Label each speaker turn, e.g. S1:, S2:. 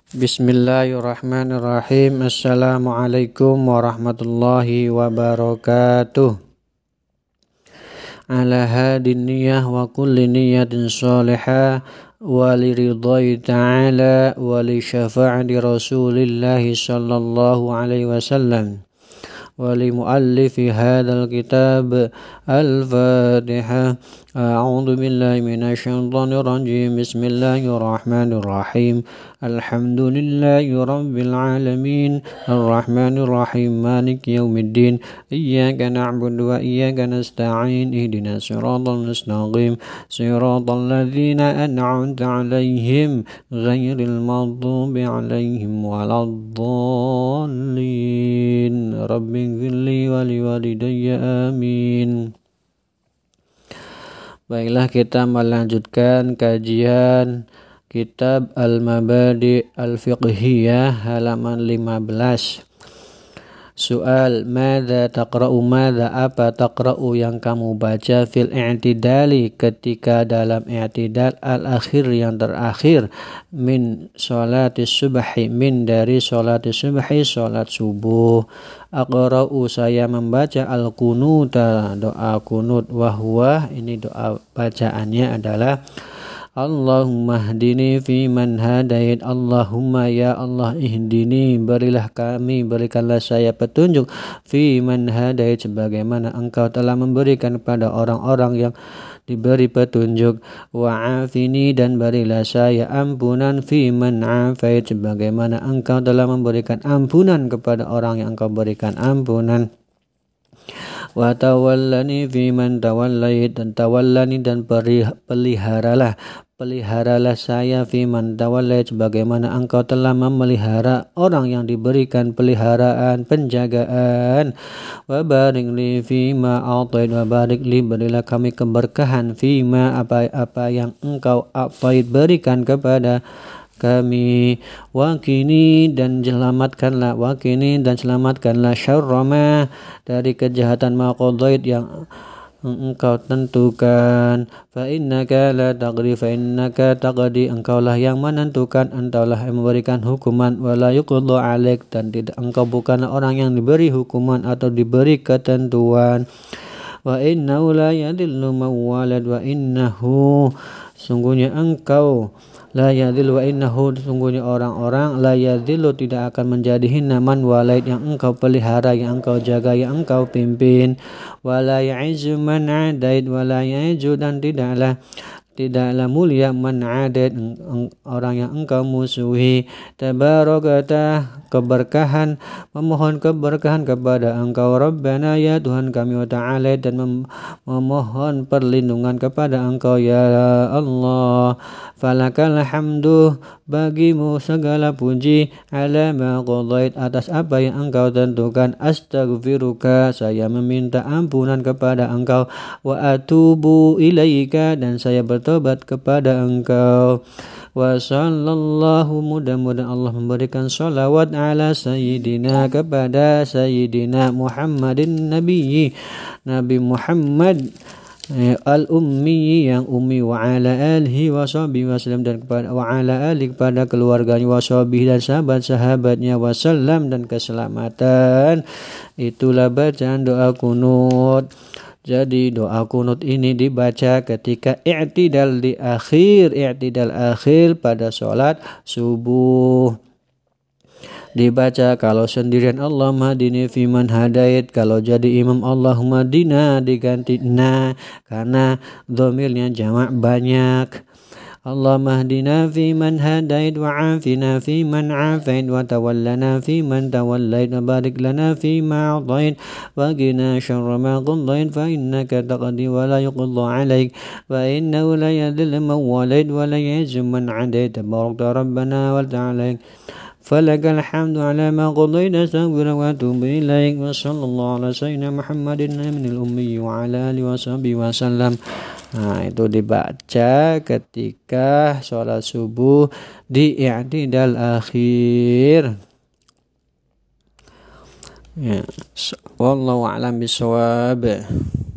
S1: Bismillahirrahmanirrahim. Assalamualaikum warahmatullahi wabarakatuh. Ala hadin niyah wa kulli niyatin salihah wa li ridhai ta'ala wa li syafa'ati rasulillahi sallallahu alaihi wasallam wa li muallifi hadzal kitab al-Fatihah. A'udzu billahi minasyaitonir rajim. Bismillahirrahmanirrahim. Alhamdulillahi rabbil alamin. Arrahmanir rahim. Maliki yaumiddin. Iyyaka na'budu wa iyyaka nasta'in. Ihdinas siratal mustaqim. Siratal ladzina an'amta 'alaihim ghairil maghdubi 'alaihim waladdallin. Rabbighfirli wa liwalidayya amin. Baiklah, kita melanjutkan kajian kitab Al-Mabadi Al-Fiqhiyah halaman 15. Soal, madza taqra'u, madza apa taqra'u yang kamu baca fil i'tidali ketika dalam i'tidal al-akhir yang terakhir min sholatis subhi, min dari sholatis subhi, sholat subuh. Aqra'u saya membaca al-qunuta, doa kunut, wahwa ini doa bacaannya adalah Allahumma hdini fi man hadait. Allahumma ya Allah ihdini, berilah kami, berikanlah saya petunjuk fi man hadait, sebagaimana engkau telah memberikan kepada orang-orang yang diberi petunjuk. Wa'afini, dan berilah saya ampunan fi man afait, sebagaimana engkau telah memberikan ampunan kepada orang yang engkau berikan ampunan. Wa tawallani fi man tawallait, dan tawallani, dan peliharalah saya fi man tawallait, sebagaimana engkau telah memelihara orang yang diberikan peliharaan, penjagaan. Wa barik li fi ma a'tait, wa barik li, berilah kami keberkahan fi ma, apa yang engkau a'tait, berikan kepada kami. Wakini, dan selamatkanlah, wakini, dan selamatkanlah syarrama, dari kejahatan ma qadait, yang engkau tentukan. Fa innaka la taqdi, fa innaka taqdi, engkaulah yang menentukan, engkaulah yang memberikan hukuman. Wala yuqda alaik, dan tidak, engkau bukanlah orang yang diberi hukuman atau diberi ketentuan. Wa innahu la yadillu mawalad, wa innahu, sungguhnya engkau, la yadhillu, wa innahu, sungguhnya orang-orang, la yadhillu, tidak akan menjadi hina, man walaid, yang engkau pelihara, yang engkau jaga, yang engkau pimpin. Wa la ya'izzu man adait, wa la ya'izzu, dan tidaklah mulia man adait, orang yang engkau musuhi. Tabarakata, keberkahan, memohon keberkahan kepada engkau. Rabbana, ya Tuhan kami, wa ta'ala, dan memohon perlindungan kepada engkau ya Allah. Falakal hamdu, bagimu segala puji, ala ma qadait, atas apa yang engkau tentukan. Astaghfiruka, saya meminta ampunan kepada engkau. Wa atubu ilaika, dan saya bertobat kepada engkau. Wa sallallahu, mudah-mudahan Allah memberikan salawat ala sayyidina, kepada sayyidina Muhammadin Nabi Muhammad al-ummi, yang ummi, wa ala alihi wa sahbihi wasallam, dan kepada wa ala alihi, kepada keluarganya, wa sahbihi, dan sahabat-sahabatnya, wasallam, dan keselamatan. Itulah bacaan doa kunut. Jadi doa kunut ini dibaca ketika i'tidal akhir pada sholat subuh. Dibaca kalau sendirian Allahumma hdini fi man hadait, kalau jadi imam Allahumma hdina diganti na, karena dhamirnya jamak banyak. Allahumma hdina fi man hadait, wa afina fi man afait, wa tawallana fi man tawallait, wa barik lana fi ma a'tait, wa qina syarra ma qadait, fa innaka taqdi wa la yuqda alaik, wa innahu la yadhillu man walait, wa la ya'izzu man adait. Tabarakta rabbana wa ta'ala. Falakal hamdu ala ma qadaita, astaghfiruka wa atubu ilaik. Wa sallallahu ala sayyidina Muhammadin minal ummi wa ala alihi wa sahbihi wa sallam. Nah, itu dibaca ketika sholat subuh di i'tidal akhir. Ya, wallahu a'lam bishawab.